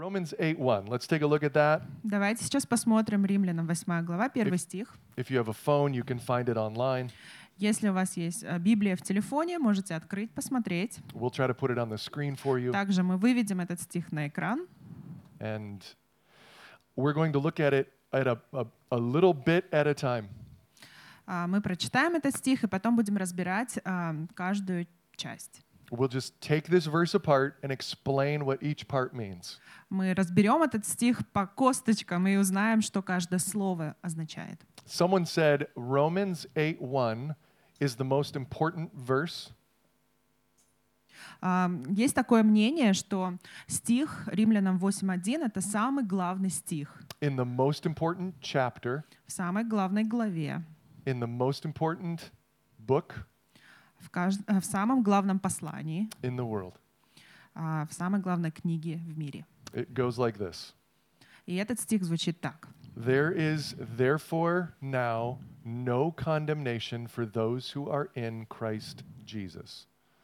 Romans 8:1. Let's take a look at that. Давайте сейчас посмотрим Римлянам 8 глава, 1 стих. If you have a phone, you can find it online. Если у вас есть Библия в телефоне, можете открыть, посмотреть. We'll try to put it on the screen for you. Также мы выведем этот стих на экран. And we're going to look at it at a little bit at a time. Мы прочитаем этот стих и потом будем разбирать каждую часть. We'll just take this verse apart and explain what each part means. Мы разберем этот стих по косточкам и узнаем, что каждое слово означает. Someone said Romans 8:1 is the most important verse. Есть такое мнение, что стих Римлянам 8:1 — это самый главный стих In the most important chapter, в самой главной главе, in the most important book в самом главном послании, in the world. в самой главной книге в мире. It goes like this. И этот стих звучит так. There is therefore now no condemnation for those who are in Christ Jesus.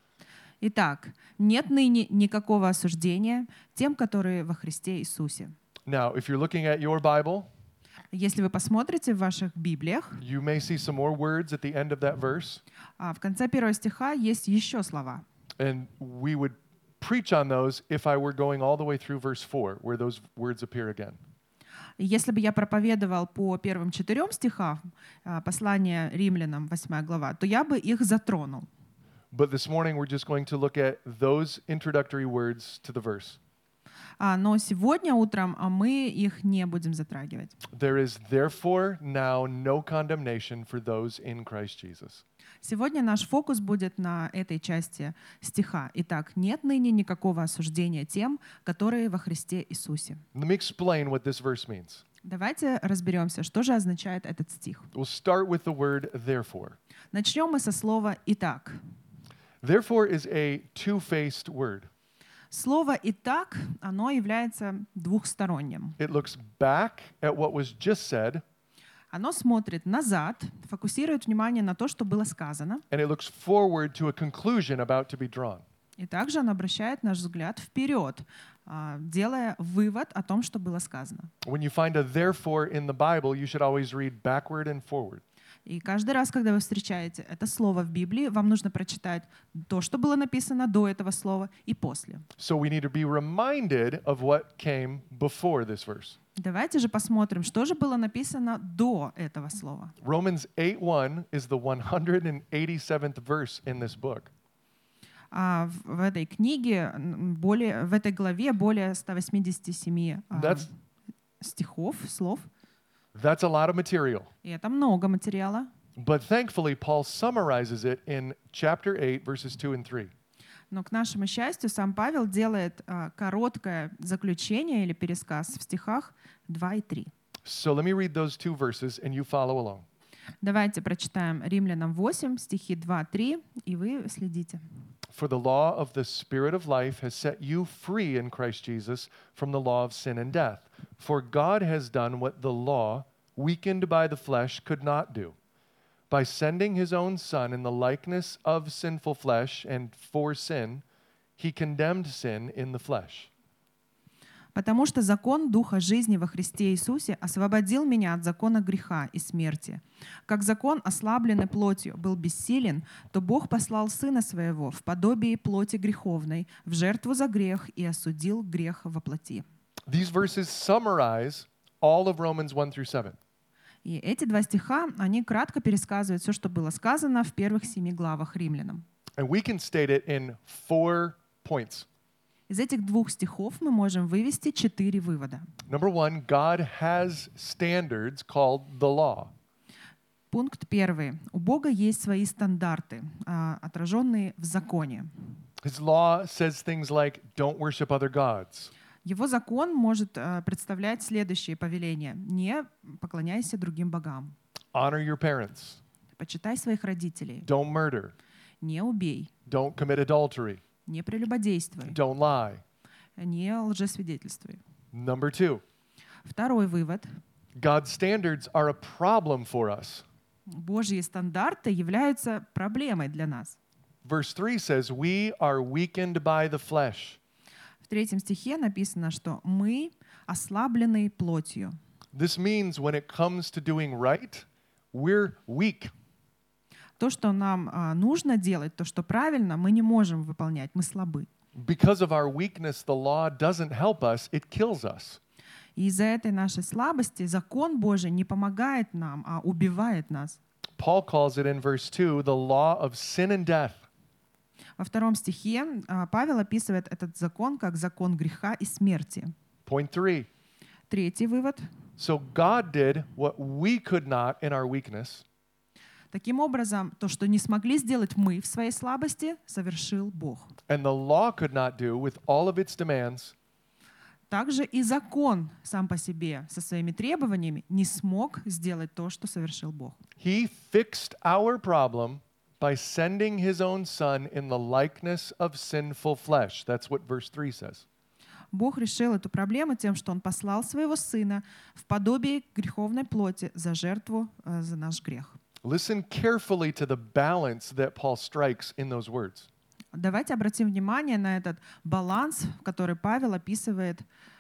Итак, нет ныне никакого осуждения тем, которые во Христе Иисусе. Now, if you're looking at your Bible, Если вы посмотрите в ваших Библиях, you may see some more words at the end of that verse, в конце первого стиха есть еще слова. and we would preach on those if I were going all the way through verse 4, where those words appear again. И если бы я проповедовал по первым 4 стихам послания Римлянам, 8 глава, то я бы их затронул. But this morning we're just going to look at those introductory words to the verse. Но сегодня утром мы их не будем затрагивать. There is therefore now no condemnation for those in Christ Jesus. Сегодня наш фокус будет на этой части стиха. Итак, нет ныне никакого осуждения тем, которые во Христе Иисусе. Let me explain what this verse means. Давайте разберемся, что же означает этот стих. We'll start with the word therefore. Начнем мы со слова «итак». Therefore is a two-faced word. Слово «итак», оно является двухсторонним. It looks back at what was just said, Оно смотрит назад, фокусирует внимание на то, что было сказано, and it looks forward to a conclusion about to be drawn. и также оно обращает наш взгляд вперед, делая вывод о том, что было сказано. When you find a therefore in the Bible, you should always read backward and forward. И каждый раз, когда вы встречаете это слово в Библии, вам нужно прочитать то, что было написано до этого слова, и после. So we need to be reminded of what came before this verse. Давайте же посмотрим, что же было написано до этого слова. Romans 8:1 is the 187th verse in this book. В этой книге, в этой главе более 187 стихов, слов. That's a lot of material. И это много материала. But thankfully, Paul summarizes it in chapter 8, verses 2 and 3. Но к нашему счастью, сам Павел делает короткое заключение или пересказ в стихах 2 и 3. So let me read those two verses and you follow along. Давайте прочитаем Римлянам 8, стихи 2-3, и вы следите. For the law of the Spirit of life has set you free in Christ Jesus from the law of sin and death. For God has done what the law, weakened by the flesh, could not do. By sending his own Son in the likeness of sinful flesh and for sin, he condemned sin in the flesh. «Потому что закон Духа жизни во Христе Иисусе освободил меня от закона греха и смерти. Как закон, ослабленный плотью, был бессилен, то Бог послал Сына Своего в подобие плоти греховной, в жертву за грех и осудил грех во плоти». These verses summarize all of Romans 1 through 7. И эти 2 стиха, они кратко пересказывают все, что было сказано в первых 7 главах Римлянам. And we can state it in 4 points. Из этих 2 стихов мы можем вывести 4 вывода. Number 1, God has standards called the law. Пункт 1. У Бога есть свои стандарты, отраженные в законе. His law says things like, don't worship other gods. Его закон может представлять следующие повеления. Не поклоняйся другим богам. Honor your parents. Почитай своих родителей. Don't murder. Не убей. Don't commit adultery. Не прелюбодействуй. Don't lie. Не лжесвидетельствуй. Number 2, Второй вывод. God's standards are a problem for us. Божьи стандарты являются проблемой для нас. Verse 3 says, we are weakened by the flesh. В 3 стихе написано, что мы ослаблены плотью. This means when it comes to doing right, we're weak. То, что нам нужно делать, то, что правильно, мы не можем выполнять, мы слабы. Because of our weakness, the law doesn't help us, it kills us. И из-за этой нашей слабости закон Божий не помогает нам, а убивает нас. Paul calls it in verse 2 the law of sin and death. Во 2 стихе Павел описывает этот закон как закон греха и смерти. Point 3. 3 вывод. So God did what we could not in our weakness. Таким образом, то, что не смогли сделать мы в своей слабости, совершил Бог. And the law could not do with all of its demands. Также и закон сам по себе со своими требованиями не смог сделать то, что совершил Бог. He fixed our problem by sending his own son in the likeness of sinful flesh. That's what verse 3 says. Бог решил эту проблему тем, что Он послал Своего Сына в подобие греховной плоти за жертву за наш грех. Listen carefully to the balance that Paul strikes in those words. Давайте обратим внимание на этот баланс, в который Павел описывает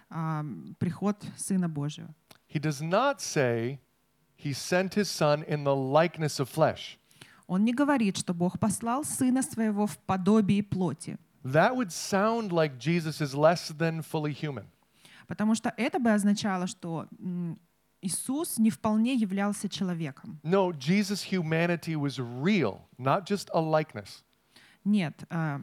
приход Сына Божьего. He does not say he sent his son in the likeness of flesh. Он не говорит, что Бог послал Сына Своего в подобии плоти, That would sound like Jesus is less than fully human. потому что это бы означало, что Иисус не вполне являлся человеком. No, Jesus' humanity was real, not just a likeness. Нет,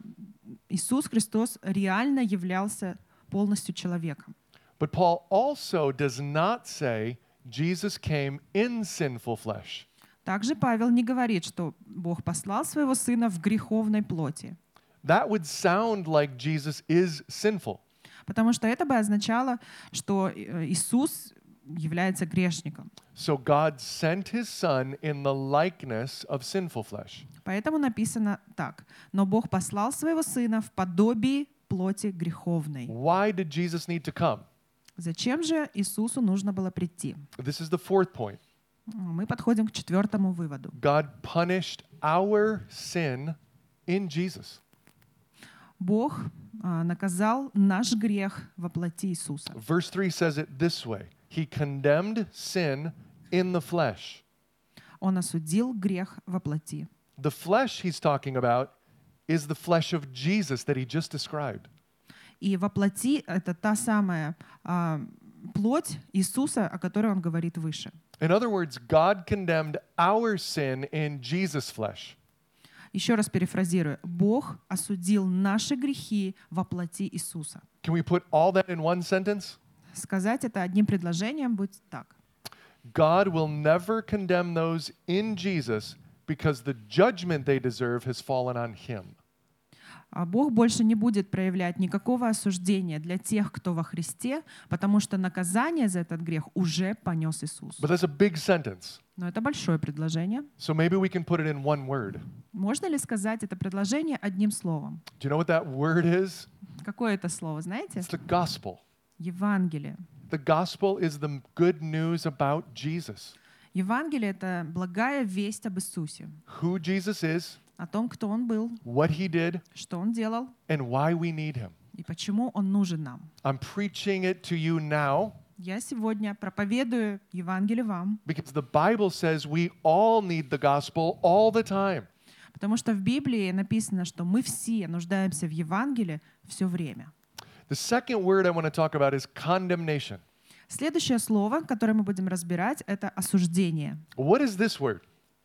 Иисус Христос реально являлся полностью человеком. But Paul also does not say Jesus came in sinful flesh. Также Павел не говорит, что Бог послал Своего Сына в греховной плоти, That would sound like Jesus is sinful. потому что это бы означало, что Иисус является грешником. So God sent his son in the likeness of sinful flesh. Поэтому написано так: «Но Бог послал Своего Сына в подобии плоти греховной». Why did Jesus need to come? Зачем же Иисусу нужно было прийти? This is the fourth point. Мы подходим к 4 выводу. God punished our sin in Jesus. Бог наказал наш грех во плоти Иисуса. Verse 3 says it this way. He condemned sin in the flesh. Он осудил грех во плоти. The flesh he's talking about is the flesh of Jesus that he just described. И во плоти это та самая плоть Иисуса, о которой он говорит выше. In other words, God condemned our sin in Jesus' flesh. Еще раз перефразирую. Бог осудил наши грехи во плоти Иисуса. Can we put all that in one sentence? Сказать это одним предложением будет так. God will never condemn those in Jesus because the judgment they deserve has fallen on him. Бог больше не будет проявлять никакого осуждения для тех, кто во Христе, потому что наказание за этот грех уже понес Иисус. But that's a big sentence. Но это большое предложение. So maybe we can put it in one word. Можно ли сказать это предложение одним словом? Do you know what that word is? Какое это слово, знаете? It's the gospel. Евангелие. The gospel is the good news about Jesus. Евангелие — это благая весть об Иисусе, Who Jesus is, о том, кто Он был, what he did, что Он делал and why we need him. и почему Он нужен нам. I'm preaching it to you now Я сегодня проповедую Евангелие вам, because the Bible says we all need the gospel all the time. потому что в Библии написано, что мы все нуждаемся в Евангелии все время. The second word I want to talk about is condemnation. Следующее слово, которое мы будем разбирать, это осуждение. What is this word?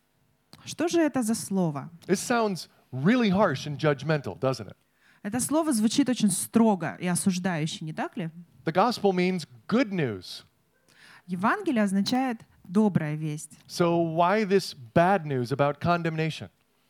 Что же это за слово? This sounds really harsh and judgmental, doesn't it? Это слово звучит очень строго и осуждающе, не так ли? The gospel means good news. Евангелие означает добрая весть. So why this bad news about condemnation?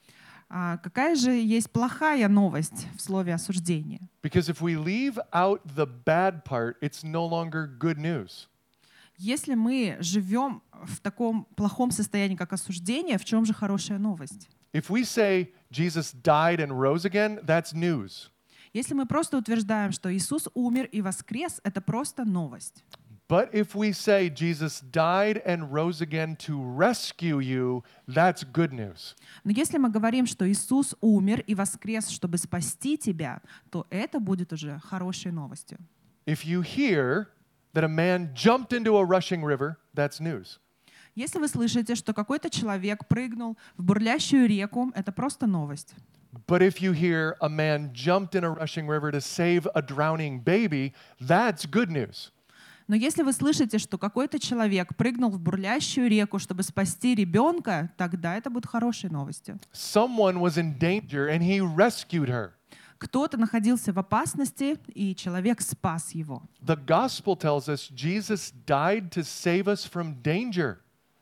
А какая же есть плохая новость в слове осуждение? Because if we leave out the bad part, it's no longer good news. Если мы живем в таком плохом состоянии, как осуждение, в чем же хорошая новость? If we say Jesus died and rose again, that's news. Если мы просто утверждаем, что Иисус умер и воскрес, это просто новость. But if we say Jesus died and rose again to rescue you, that's good news. Но если мы говорим, что Иисус умер и воскрес, чтобы спасти тебя, то это будет уже хорошей новостью. If you hear that a man jumped into a rushing river, that's news. Если вы слышите, что какой-то человек прыгнул в бурлящую реку, это просто новость. But if you hear a man jumped in a rushing river to save a drowning baby, that's good news. Но если вы слышите, что какой-то человек прыгнул в бурлящую реку, чтобы спасти ребенка, тогда это будет хорошей новостью. Someone was in danger and he rescued her. Кто-то находился в опасности, и человек спас его. The gospel tells us Jesus died to save us from danger.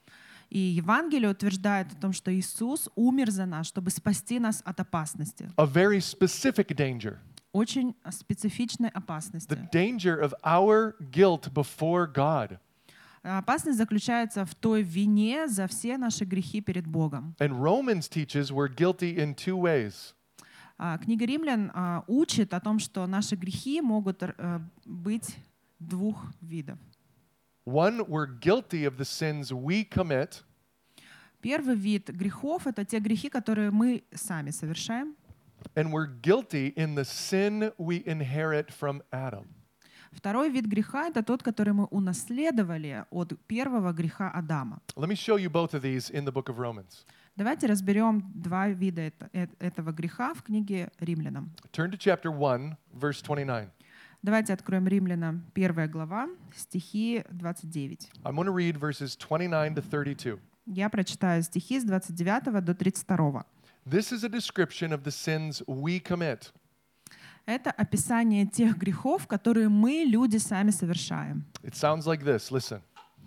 И Евангелие утверждает о том, что Иисус умер за нас, чтобы спасти нас от опасности. A very specific danger. Очень специфичной опасности. The danger of our guilt before God. Опасность заключается в той вине за все наши грехи перед Богом. And Romans teaches we're guilty in two ways. Книга Римлян учит о том, что наши грехи могут быть двух видов. One, we're guilty of the sins we commit. Первый вид грехов — это те грехи, которые мы сами совершаем. And we're guilty in the sin we inherit from Adam. Второй вид греха — это тот, который мы унаследовали от первого греха Адама. Let me show you both of these in the book of Romans. Давайте разберем два вида этого греха в книге Римлянам. Turn to chapter 1, verse 29. Давайте откроем Римлянам 1 глава, стихи 29. I'm going to read verses 29 to 32. Я прочитаю стихи с 29 до 32. This is a description of the sins we commit. Это описание тех грехов, которые мы, люди, сами совершаем. It sounds like this. Listen.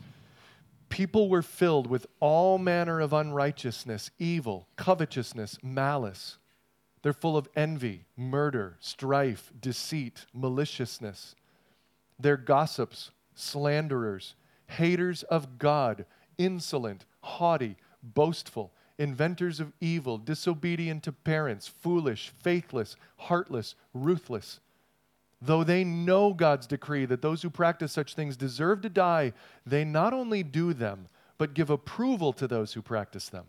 People were filled with all manner of unrighteousness, evil, covetousness, malice. They're full of envy, murder, strife, deceit, maliciousness. They're gossips, slanderers, haters of God, insolent, haughty, boastful, inventors of evil, disobedient to parents, foolish, faithless, heartless, ruthless. Though they know God's decree that those who practice such things deserve to die, they not only do them, but give approval to those who practice them.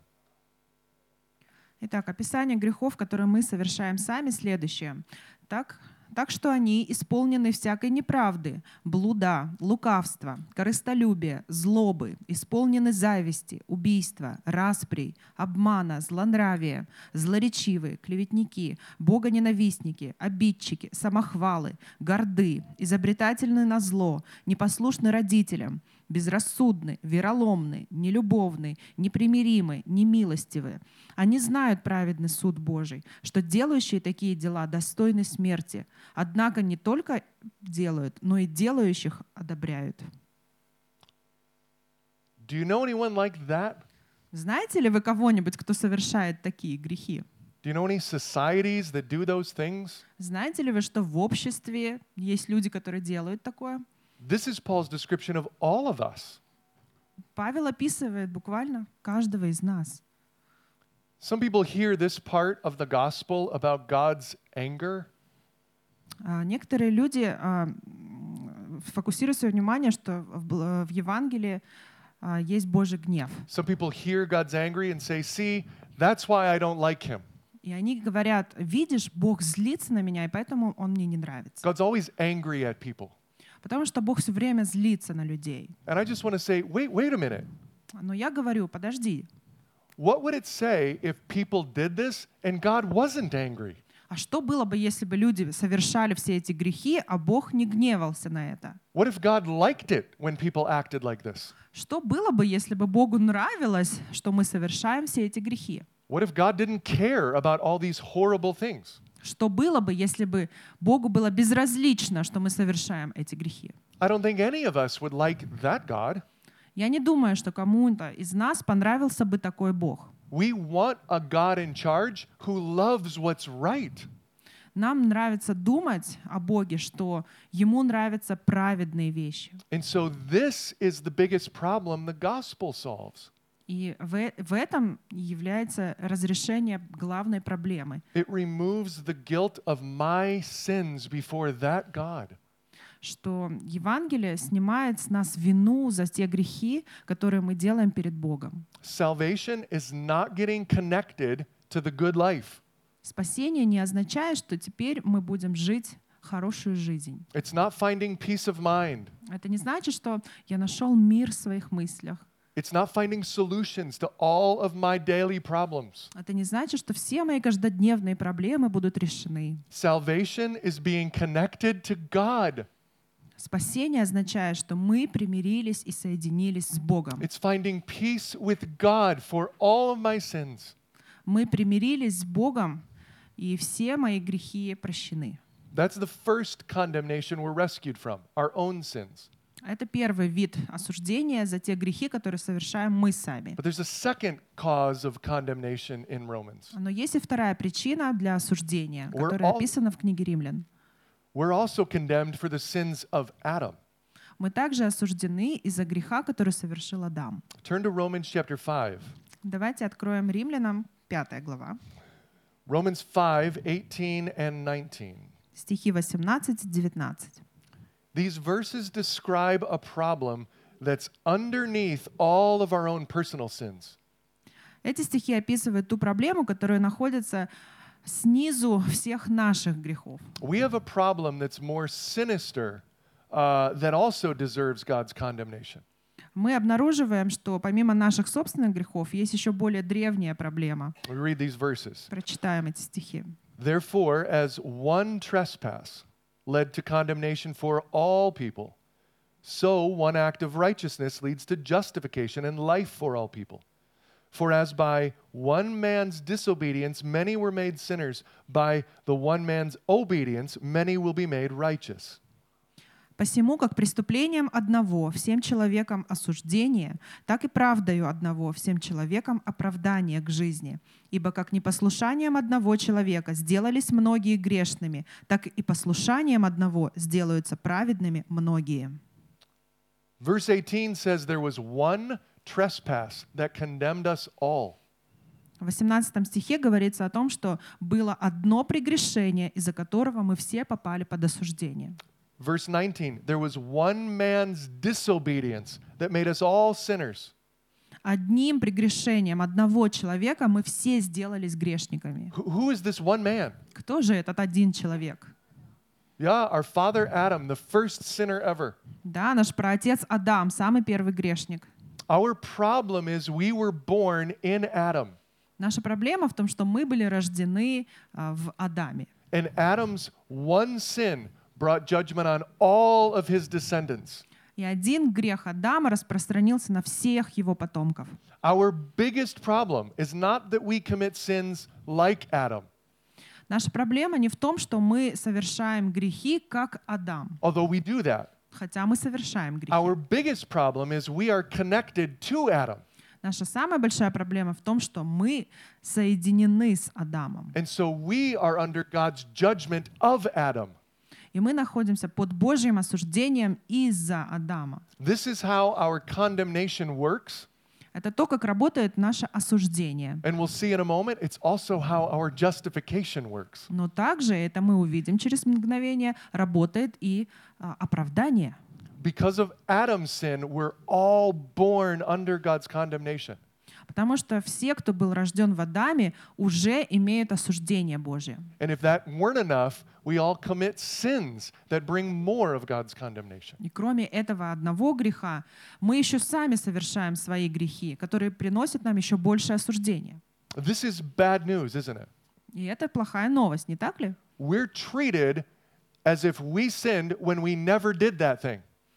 Итак, описание грехов, которые мы совершаем сами, следующее. Так что они исполнены всякой неправды, блуда, лукавства, корыстолюбия, злобы, исполнены зависти, убийства, расприй, обмана, злонравия, злоречивые, клеветники, богоненавистники, обидчики, самохвалы, горды, изобретательны на зло, непослушны родителям, безрассудны, вероломны, нелюбовны, непримиримы, немилостивы. Они знают праведный суд Божий, что делающие такие дела достойны смерти, однако не только делают, но и делающих одобряют. Do you know anyone like that? Знаете ли вы кого-нибудь, кто совершает такие грехи? Do you know any societies that do those things? Знаете ли вы, что в обществе есть люди, которые делают такое? This is Paul's description of all of us. Павел описывает буквально каждого из нас. Some people hear this part of the gospel about God's anger, Некоторые люди фокусируют свое внимание, что в Евангелии есть Божий гнев. some people hear God's angry and say, see, that's why I don't like him. И они говорят: видишь, Бог злится на меня, и поэтому Он мне не нравится. God's always angry at people. Потому что Бог все время злится на людей. And I just want to say, wait a minute. Но я говорю: подожди, What would it say if people did this and God wasn't angry? а что было бы, если бы люди совершали все эти грехи, а Бог не гневался на это? What if God liked it when people acted like this? Что было бы, если бы Богу нравилось, что мы совершаем все эти грехи? What if God didn't care about all these horrible things? Что было бы, если бы Богу было безразлично, что мы совершаем эти грехи? I don't think any of us would like that God. Я не думаю, что кому-то из нас понравился бы такой Бог. We want a God in charge who loves what's right. Нам нравится думать о Боге, что Ему нравятся праведные вещи. And so this is the biggest problem the gospel solves. И в этом является разрешение главной проблемы. It removes the guilt of my sins before that God. что Евангелие снимает с нас вину за те грехи, которые мы делаем перед Богом. Salvation is not getting connected to the good life. Спасение не означает, что теперь мы будем жить хорошую жизнь. It's not finding peace of mind. Это не значит, что я нашел мир в своих мыслях. It's not finding solutions to all of my daily problems. Это не значит, что все мои каждодневные проблемы будут решены. Salvation is being connected to God. Спасение означает, что мы примирились и соединились с Богом. It's finding peace with God for all of my sins. Мы примирились с Богом, и все мои грехи прощены. That's the first condemnation we're rescued from, our own sins. Это первый вид осуждения за те грехи, которые совершаем мы сами. But there's a second cause of condemnation in Romans. Но есть и вторая причина для осуждения, We're которая all- описана в книге Римлян. We're also condemned for the sins of Adam. Мы также осуждены из-за греха, который совершил Адам. Turn to Romans chapter 5. Давайте откроем Римлянам 5 глава, Romans 5, 18 and 19. стихи 18-19. These verses describe a problem that's underneath all of our own personal sins. Эти стихи описывают ту проблему, которая находится снизу всех наших грехов. We have a problem that's more sinister that also deserves God's condemnation. Мы обнаруживаем, что помимо наших собственных грехов есть еще более древняя проблема. We read these verses. Прочитаем эти стихи. Therefore, as one trespass led to condemnation for all people, so one act of righteousness leads to justification and life for all people. For as by one man's disobedience many were made sinners, by the one man's obedience many will be made righteous. «Посему, как преступлением одного всем человекам осуждение, так и правдою одного всем человекам оправдание к жизни. Ибо как непослушанием одного человека сделались многие грешными, так и послушанием одного сделаются праведными многие». Verse 18 says there was one trespass that condemned us all. В 18 стихе говорится о том, что было одно прегрешение, из-за которого мы все попали под осуждение. Verse 19, there was one man's disobedience that made us all sinners. Одним прегрешением одного человека мы все сделались грешниками. Who is this one man? Кто же этот один человек? Yeah, our father Adam, the first sinner ever. Да, наш праотец Адам, самый первый грешник. Our problem is we were born in Adam. Наша проблема в том, что мы были рождены в Адаме. And Adam's one sin brought judgment on all of his descendants. И один грех Адама распространился на всех его потомков. Our biggest problem is not that we commit sins like Adam, Наша проблема не в том, что мы совершаем грехи, как Адам, although we do that. хотя мы совершаем грехи. Our biggest problem is we are connected to Adam. Наша самая большая проблема в том, что мы соединены с Адамом. And so we are under God's judgment of Adam. И мы находимся под Божьим осуждением из-за Адама. This is how our condemnation works. Это то, как работает наше осуждение. And we'll see in a moment, it's also how our justification works. Но также, это мы увидим через мгновение, работает и оправдание. Because of Adam's sin, we're all born under God's condemnation. Потому что все, кто был рожден в Адаме, уже имеют осуждение Божье. And if that weren't enough, we all commit sins that bring more of God's condemnation. И кроме этого одного греха, мы еще сами совершаем свои грехи, которые приносят нам еще больше осуждения. This is bad news, isn't it? И это плохая новость, не так ли? We're treated as if we sinned when we never did that thing.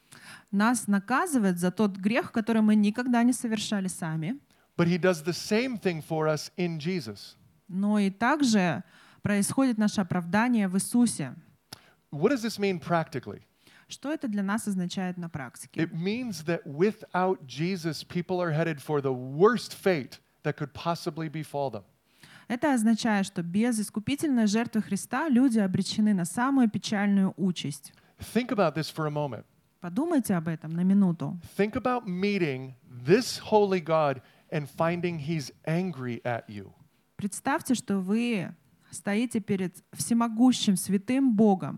Нас наказывают за тот грех, который мы никогда не совершали сами. But he does the same thing for us in Jesus. Но и также происходит наше оправдание в Иисусе. What does this mean practically? Что это для нас означает на практике? It means that without Jesus, people are headed for the worst fate that could possibly befall them. Это означает, что без искупительной жертвы Христа люди обречены на самую печальную участь. Think about this for a moment. Подумайте об этом на минуту. Think about meeting this holy God and finding he's angry at you. Представьте, что вы стоите перед всемогущим святым Богом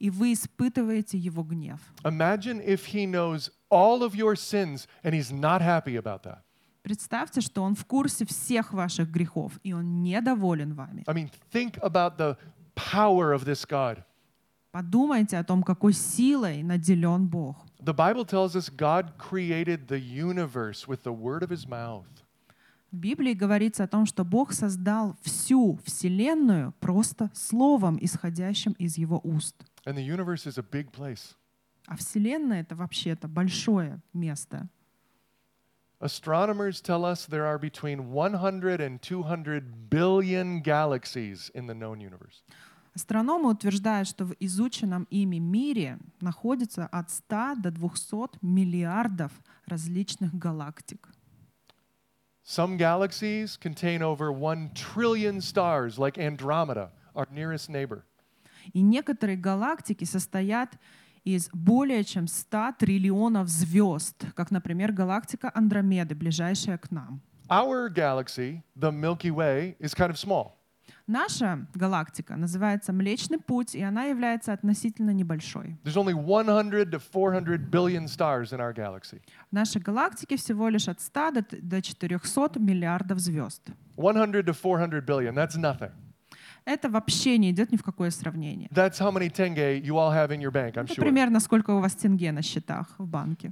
и вы испытываете Его гнев. Imagine if he knows all of your sins and he's not happy about that. Представьте, что Он в курсе всех ваших грехов, и Он недоволен вами. I mean, think about the power of this God. Подумайте о том, какой силой наделен Бог. The Bible tells us God created the universe with the word of his mouth. В Библии говорится о том, что Бог создал всю Вселенную просто словом, исходящим из Его уст. And the universe is a big place. А Вселенная — это вообще-то большое место. Astronomers tell us there are between 100 and 200 billion galaxies in the known universe. Астрономы утверждают, что в изученном ими мире находится от 100 до 200 миллиардов различных галактик. Some galaxies contain over 1 trillion stars, like Andromeda, our nearest neighbor. И некоторые галактики состоят из более чем 100 триллионов звезд, как, например, галактика Андромеды, ближайшая к нам. Our galaxy, the Milky Way, is kind of small. Наша галактика называется Млечный Путь, и она является относительно небольшой. There's only 100 to 400 billion stars in our galaxy. В нашей галактике всего лишь от 100 до 400 миллиардов звезд. 100 to 400 billion, that's nothing. Это вообще не идет ни в какое сравнение. That's how many tenge you all have in your bank, I'm Это sure. примерно сколько у вас тенге на счетах в банке.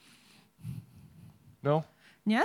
No? Нет?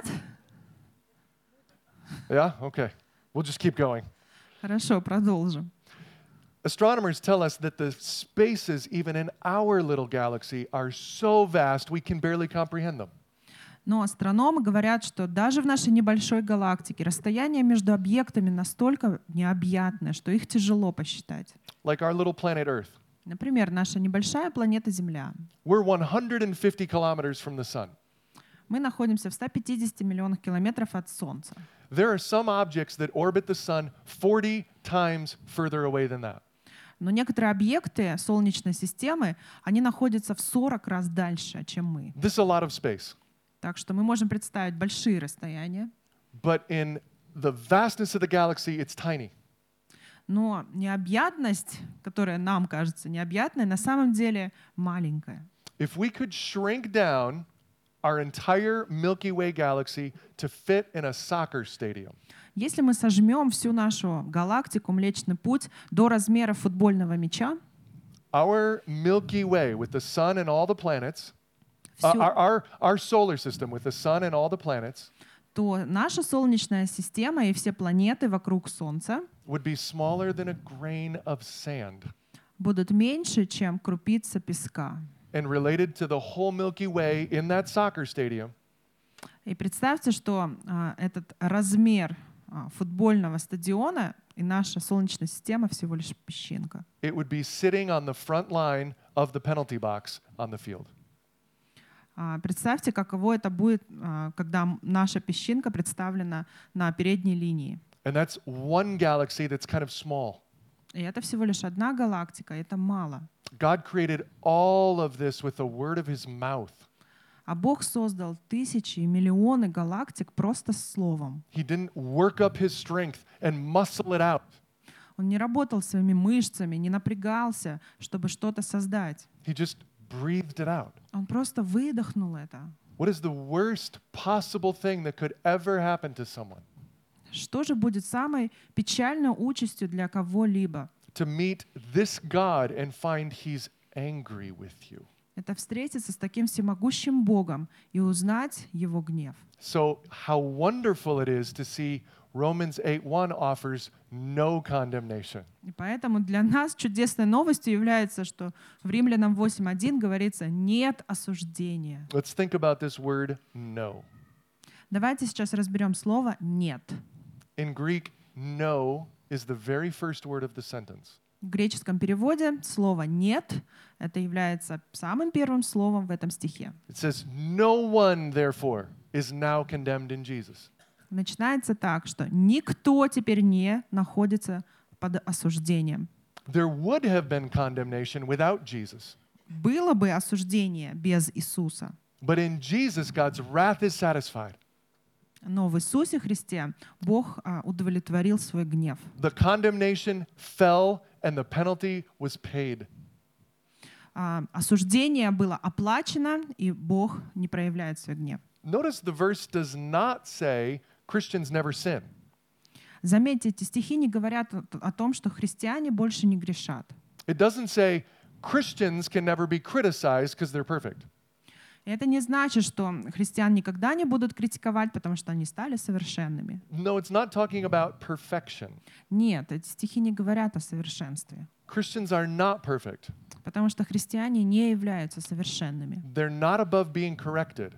Yeah? Okay. We'll just keep going. Хорошо, продолжим. Astronomers tell us that the spaces, even in our little galaxy, are so vast we can barely comprehend them. Но астрономы говорят, что даже в нашей небольшой галактике расстояние между объектами настолько необъятное, что их тяжело посчитать. Like our little planet Earth. Например, наша небольшая планета Земля. We're 150 kilometers from the sun. Мы находимся в 150 миллионах километров от Солнца. There are some objects that orbit the sun 40 times further away than that. Но некоторые объекты Солнечной системы, они находятся в 40 раз дальше, чем мы. This is a lot of space. Так что мы можем представить большие расстояния. But in the vastness of the galaxy, it's tiny. Но необъятность, которая нам кажется необъятной, на самом деле маленькая. If we could shrink down our entire Milky Way galaxy to fit in a soccer stadium, Если мы сожмем всю нашу галактику, Млечный Путь, до размера футбольного мяча, our Milky Way with the sun and all the planets, всю- our solar system with the sun and all the planets то наша Солнечная система и все планеты вокруг Солнца would be smaller than a grain of sand. будут меньше, чем крупица песка. And related to the whole Milky Way in that soccer stadium, И представьте, что этот размер футбольного стадиона и наша Солнечная система всего лишь песчинка. it would be sitting on the front line of the penalty box on the field. Представьте, каково это будет, когда наша песчинка представлена на передней линии. And that's one galaxy that's kind of small. И это всего лишь одна галактика, это мало. God created all of this with the word of his mouth. А Бог создал тысячи и миллионы галактик просто словом. He didn't work up his strength and muscle it out. Он не работал своими мышцами, не напрягался, чтобы что-то создать. He just breathed it out. Он просто выдохнул это. What is the worst possible thing that could ever happen to someone? Что же будет самой печальной участью для кого-либо? To meet this God and find he's angry with you. Это встретиться с таким всемогущим Богом и узнать Его гнев. So how wonderful it is to see Romans 8:1 offers no condemnation. И поэтому для нас чудесной новостью является, что в Римлянам 8:1 говорится «нет осуждения». Let's think about this word no. Давайте сейчас разберем слово «нет». In Greek, no is the very first word of the sentence. В греческом переводе слово «нет» — это является самым первым словом в этом стихе. It says, no one, therefore, is now condemned in Jesus. Начинается так, что никто теперь не находится под осуждением. There would have been condemnation without Jesus. Было бы осуждение без Иисуса, But in Jesus, God's wrath is satisfied. но в Иисусе Христе Бог удовлетворил свой гнев. The condemnation fell and the penalty was paid. осуждение было оплачено, и Бог не проявляет свой гнев. Notice the verse does not say Christians never sin. Заметьте, эти стихи не говорят о том, что христиане больше не грешат. It doesn't say Christians can never be criticized because they're perfect. И это не значит, что христиан никогда не будут критиковать, потому что они стали совершенными. No, it's not talking about perfection. Нет, эти стихи не говорят о совершенстве, Christians are not perfect. потому что христиане не являются совершенными. They're not above being corrected,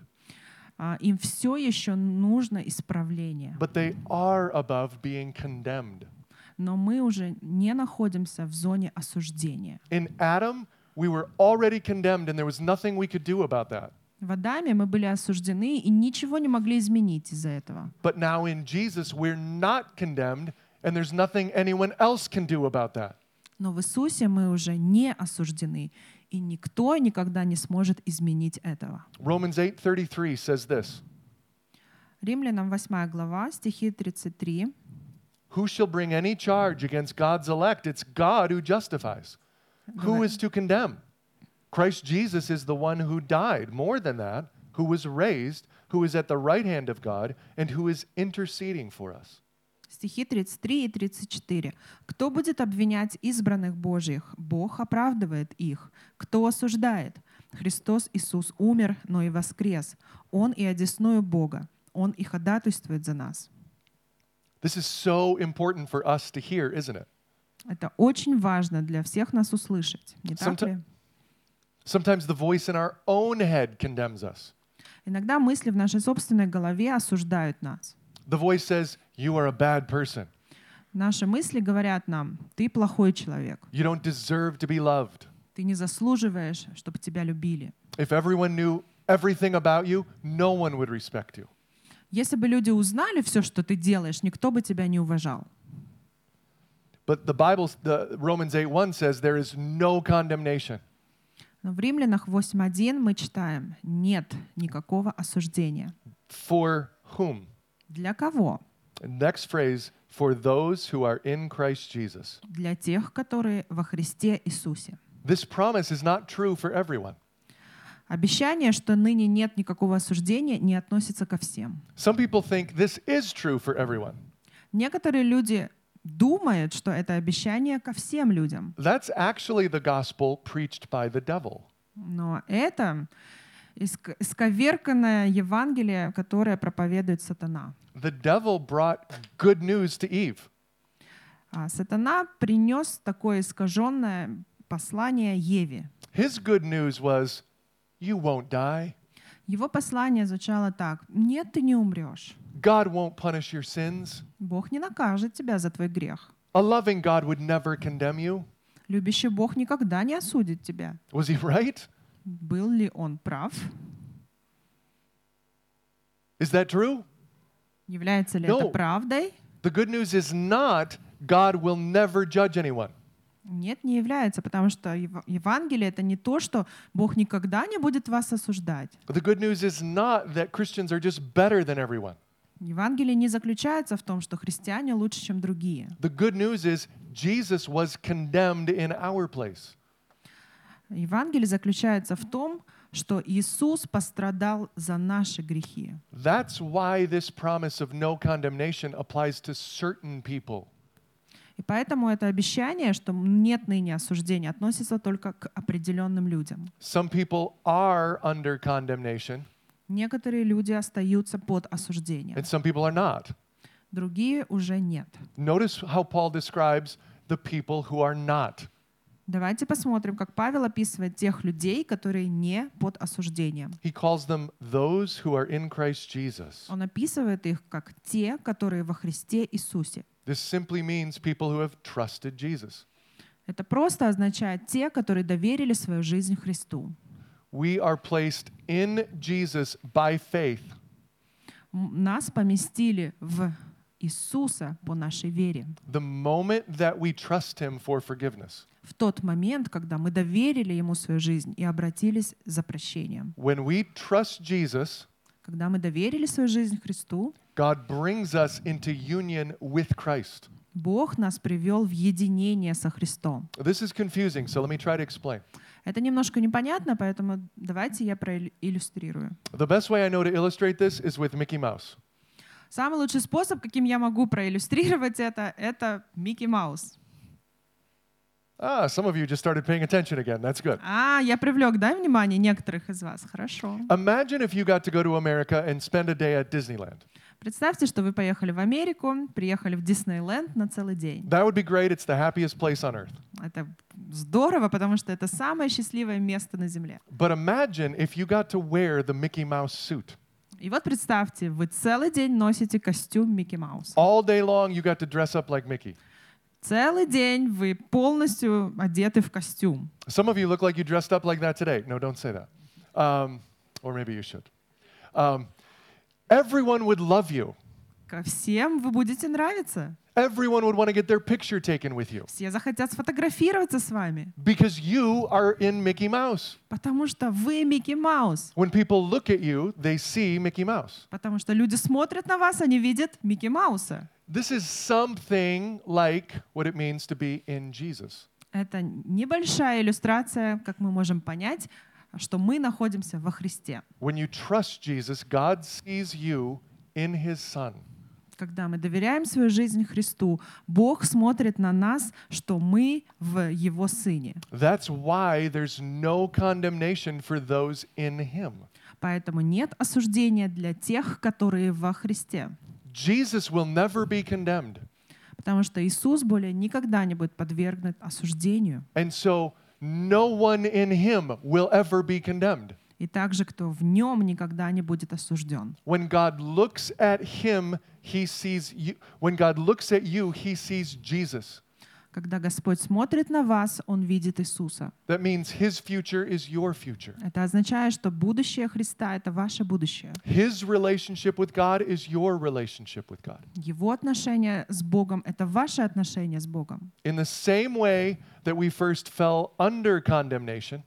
Им все еще нужно исправление. but they are above being condemned. Но мы уже не находимся в зоне осуждения. In Adam, we were already condemned, and there was nothing we could do about that. В Адаме мы были осуждены и ничего не могли изменить из-за этого. But now in Jesus, we're not condemned, and there's nothing anyone else can do about that. Но в Иисусе мы уже не осуждены, и никто никогда не сможет изменить этого. Romans 8:33 says this: Римлянам 8 глава, стихи 33. Who shall bring any charge against God's elect? It's God who justifies. Who is to condemn? Christ Jesus is the one who died. More than that, who was raised, who is at the right hand of God, and who is interceding for us. Стихи 33 и 34. «Кто будет обвинять избранных Божьих? Бог оправдывает их. Кто осуждает? Христос Иисус умер, но и воскрес. Он и одесную Бога. Он и ходатайствует за нас». This is so important for us to hear, isn't it? Это очень важно для всех нас услышать, не так ли? Sometimes the voice in our own head condemns us. Иногда мысли в нашей собственной голове осуждают нас. The voice says, you are a bad person. Наши мысли говорят нам: ты плохой человек, You don't deserve to be loved. ты не заслуживаешь, чтобы тебя любили. If everyone knew everything about you, no one would respect you. Если бы люди узнали все, что ты делаешь, никто бы тебя не уважал. But the Romans 8:1 says there is no condemnation. Но в Римлянах 8:1 мы читаем: нет никакого осуждения. For whom? Для кого? Next phrase, for those who are in Christ Jesus. Для тех, которые во Христе Иисусе. This promise is not true for everyone. Обещание, что ныне нет никакого осуждения, не относится ко всем. Some people think this is true for everyone. Некоторые люди думают, что это обещание ко всем людям. That's actually the gospel preached by the devil. Но это исковерканное Евангелие, которое проповедует сатана. The devil brought good news to Eve. Сатана принес такое искаженное послание Еве. His good news was, you won't die. Его послание звучало так: нет, ты не умрешь. God won't punish your sins. Бог не накажет тебя за твой грех. A loving God would never condemn you. Любящий Бог никогда не осудит тебя. Was he right? Был ли он прав? Is that true? Является ли No. это правдой? The good news is not God will never judge anyone. Нет, не является, потому что Евангелие — это не то, что Бог никогда не будет вас осуждать. The good news is not that Christians are just better than everyone. Евангелие не заключается в том, что христиане лучше, чем другие. The good news is Jesus was condemned in our place. Евангелие заключается в том, что Иисус пострадал за наши грехи. That's why this promise of no condemnation applies to certain people. И поэтому это обещание, что нет ныне осуждения, относится только к определенным людям. Some people are under condemnation, Некоторые люди остаются под осуждением, and some people are not. другие уже нет. Notice how Paul describes the people who are not. Давайте посмотрим, как Павел описывает тех людей, которые не под осуждением. He calls them those who are in Christ Jesus. Он описывает их как те, которые во Христе Иисусе. This simply means people who have trusted Jesus. Это просто означает те, которые доверили свою жизнь Христу. We are placed in Jesus by faith. Нас поместили в Иисуса по нашей вере. The moment that we trust Him for forgiveness. В тот момент, когда мы доверили Ему свою жизнь и обратились за прощением. When we trust Jesus, Когда мы доверили свою жизнь Христу, God brings us into union with Christ. Бог нас привел в единение со Христом. This is confusing, so let me try to explain. Это немножко непонятно, поэтому давайте я проиллюстрирую. The best way I know to illustrate this is with Mickey Mouse. Самый лучший способ, каким я могу проиллюстрировать это Микки Маус. Some of you just started paying attention again. That's good. Я привлек, да, внимание некоторых из вас. Хорошо. Imagine if you got to go to America and spend a day at Disneyland. Представьте, что вы поехали в Америку, приехали в Диснейленд на целый день. That would be great. It's the happiest place on earth. Это здорово, потому что это самое счастливое место на Земле. But imagine if you got to wear the Mickey Mouse suit. И вот представьте, вы целый день носите костюм Микки Мауса. All day long, you got to dress up like Mickey. Целый день вы полностью одеты в костюм. Some of you look like you dressed up like that today. No, don't say that. Or maybe you should. Everyone would love you. Ко всем вы будете нравиться. Everyone would want to get their picture taken with you. Все захотят сфотографироваться с вами. Because you are in Mickey Mouse. Потому что вы Микки Маус. When people look at you, they see Mickey Mouse. Потому что люди смотрят на вас, они видят Микки Мауса. This is something like what it means to be in Jesus. Это небольшая иллюстрация, как мы можем понять, что мы находимся во Христе. When you trust Jesus, God sees you in His Son. Когда мы доверяем свою жизнь Христу, Бог смотрит на нас, что мы в Его Сыне. That's why there's no condemnation for those in Him. Поэтому нет осуждения для тех, которые во Христе. Jesus will never be condemned. Потому что Иисус более никогда не будет подвергнут осуждению. And so no one in Him will ever be condemned. И также, кто в Нем никогда не будет осужден. When God looks at Him, He sees you. When God looks at you, He sees Jesus. Когда Господь смотрит на вас, Он видит Иисуса. That means His future is your future. Это означает, что будущее Христа — это ваше будущее. His relationship with God is your relationship with God. Его отношения с Богом — это ваше отношение с Богом. In the same way that we first fell under condemnation,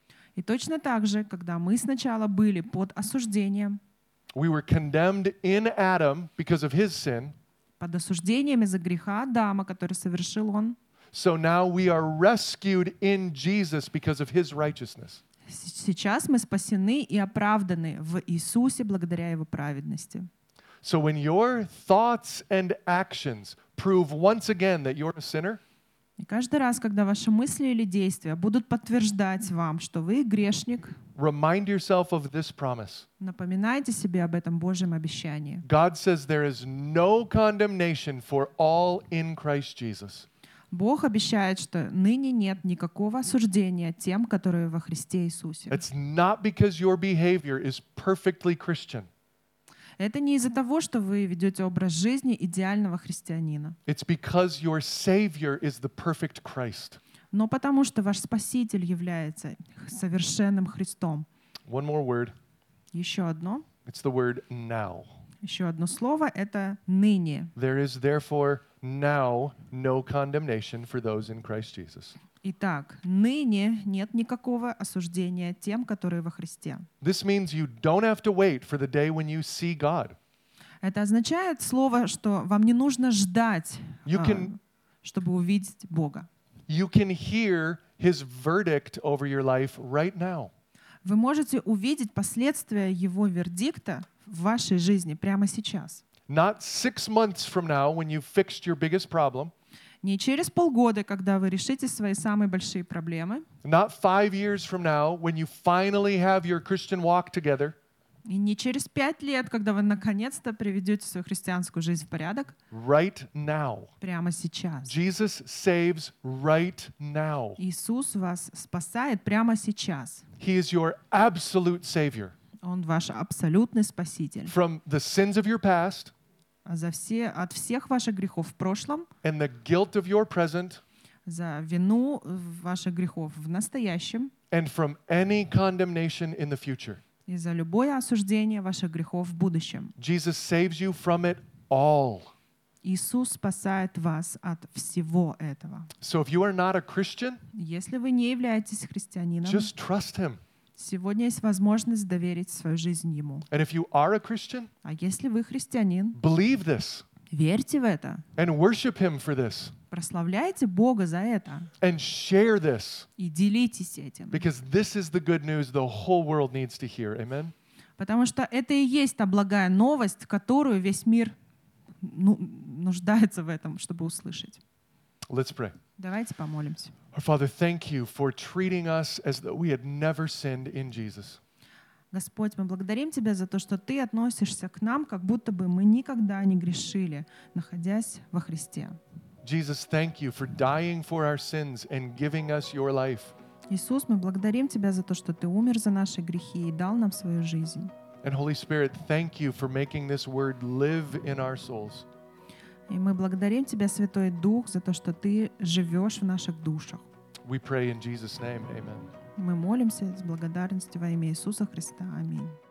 И точно так же, когда мы сначала были под осуждением, we were condemned in Adam because of his sin. под осуждением из-за греха Адама, который совершил он, So now we are rescued in Jesus because of his righteousness. сейчас мы спасены и оправданы в Иисусе благодаря Его праведности. So when your thoughts and actions prove once again that you're a sinner, И каждый раз, когда ваши мысли или действия будут подтверждать вам, что вы грешник, remind yourself of this promise. напоминайте себе об этом Божьем обещании. God says there is no condemnation for all in Christ Jesus. Бог обещает, что ныне нет никакого осуждения тем, которые во Христе Иисусе. It's not because your behavior is perfectly Christian. Это не из-за того, что вы ведете образ жизни идеального христианина, It's because your Savior is the perfect Christ. но потому что ваш Спаситель является совершенным Христом. One more word. Еще одно слово — это «ныне». There is therefore now no condemnation for those in Christ Jesus. Итак, ныне нет никакого осуждения тем, которые во Христе. This means you don't have to wait for the day when you see God. Это означает слово, что вам не нужно ждать, чтобы увидеть Бога. You can hear His verdict over your life right now. Вы можете увидеть последствия Его вердикта в вашей жизни прямо сейчас. Not 6 months from now when you've fixed your biggest problem. Не через полгода, когда вы решите свои самые большие проблемы. Not 5 years from now when you finally have your Christian walk together. И не через 5 лет, когда вы наконец-то приведете свою христианскую жизнь в порядок. Right now. Прямо сейчас. Jesus saves right now. Иисус вас спасает прямо сейчас. He is your absolute Savior. Он ваш абсолютный Спаситель. From the sins of your past. От всех ваших грехов в прошлом. And the guilt of your present. За вину ваших грехов в настоящем. And from any condemnation in the future. И за любое осуждение ваших грехов в будущем. Jesus saves you from it all. Иисус спасает вас от всего этого. So if you are not a Christian, если вы не являетесь христианином, just trust Him. Сегодня есть возможность доверить свою жизнь Ему. And if you are a Christian, А если вы христианин, believe this. Верьте в это. and worship Him for this Прославляйте Бога за это. and share this И делитесь этим. because this is the good news the whole world needs to hear. Amen? Потому что это и есть та благая новость, которую весь мир нуждается в этом, чтобы услышать. Let's pray. Давайте помолимся. Our Father, thank you for treating us as though we had never sinned in Jesus. Господь, мы благодарим Тебя за то, что Ты относишься к нам, как будто бы мы никогда не грешили, находясь во Христе. Jesus, thank you for dying for our sins and giving us your life. Иисус, мы благодарим Тебя за то, что Ты умер за наши грехи и дал нам свою жизнь. And Holy Spirit, thank you for making this word live in our souls. И мы благодарим Тебя, Святой Дух, за то, что Ты живешь в наших душах. We pray in Jesus' name. Amen. Мы молимся с благодарностью во имя Иисуса Христа. Аминь.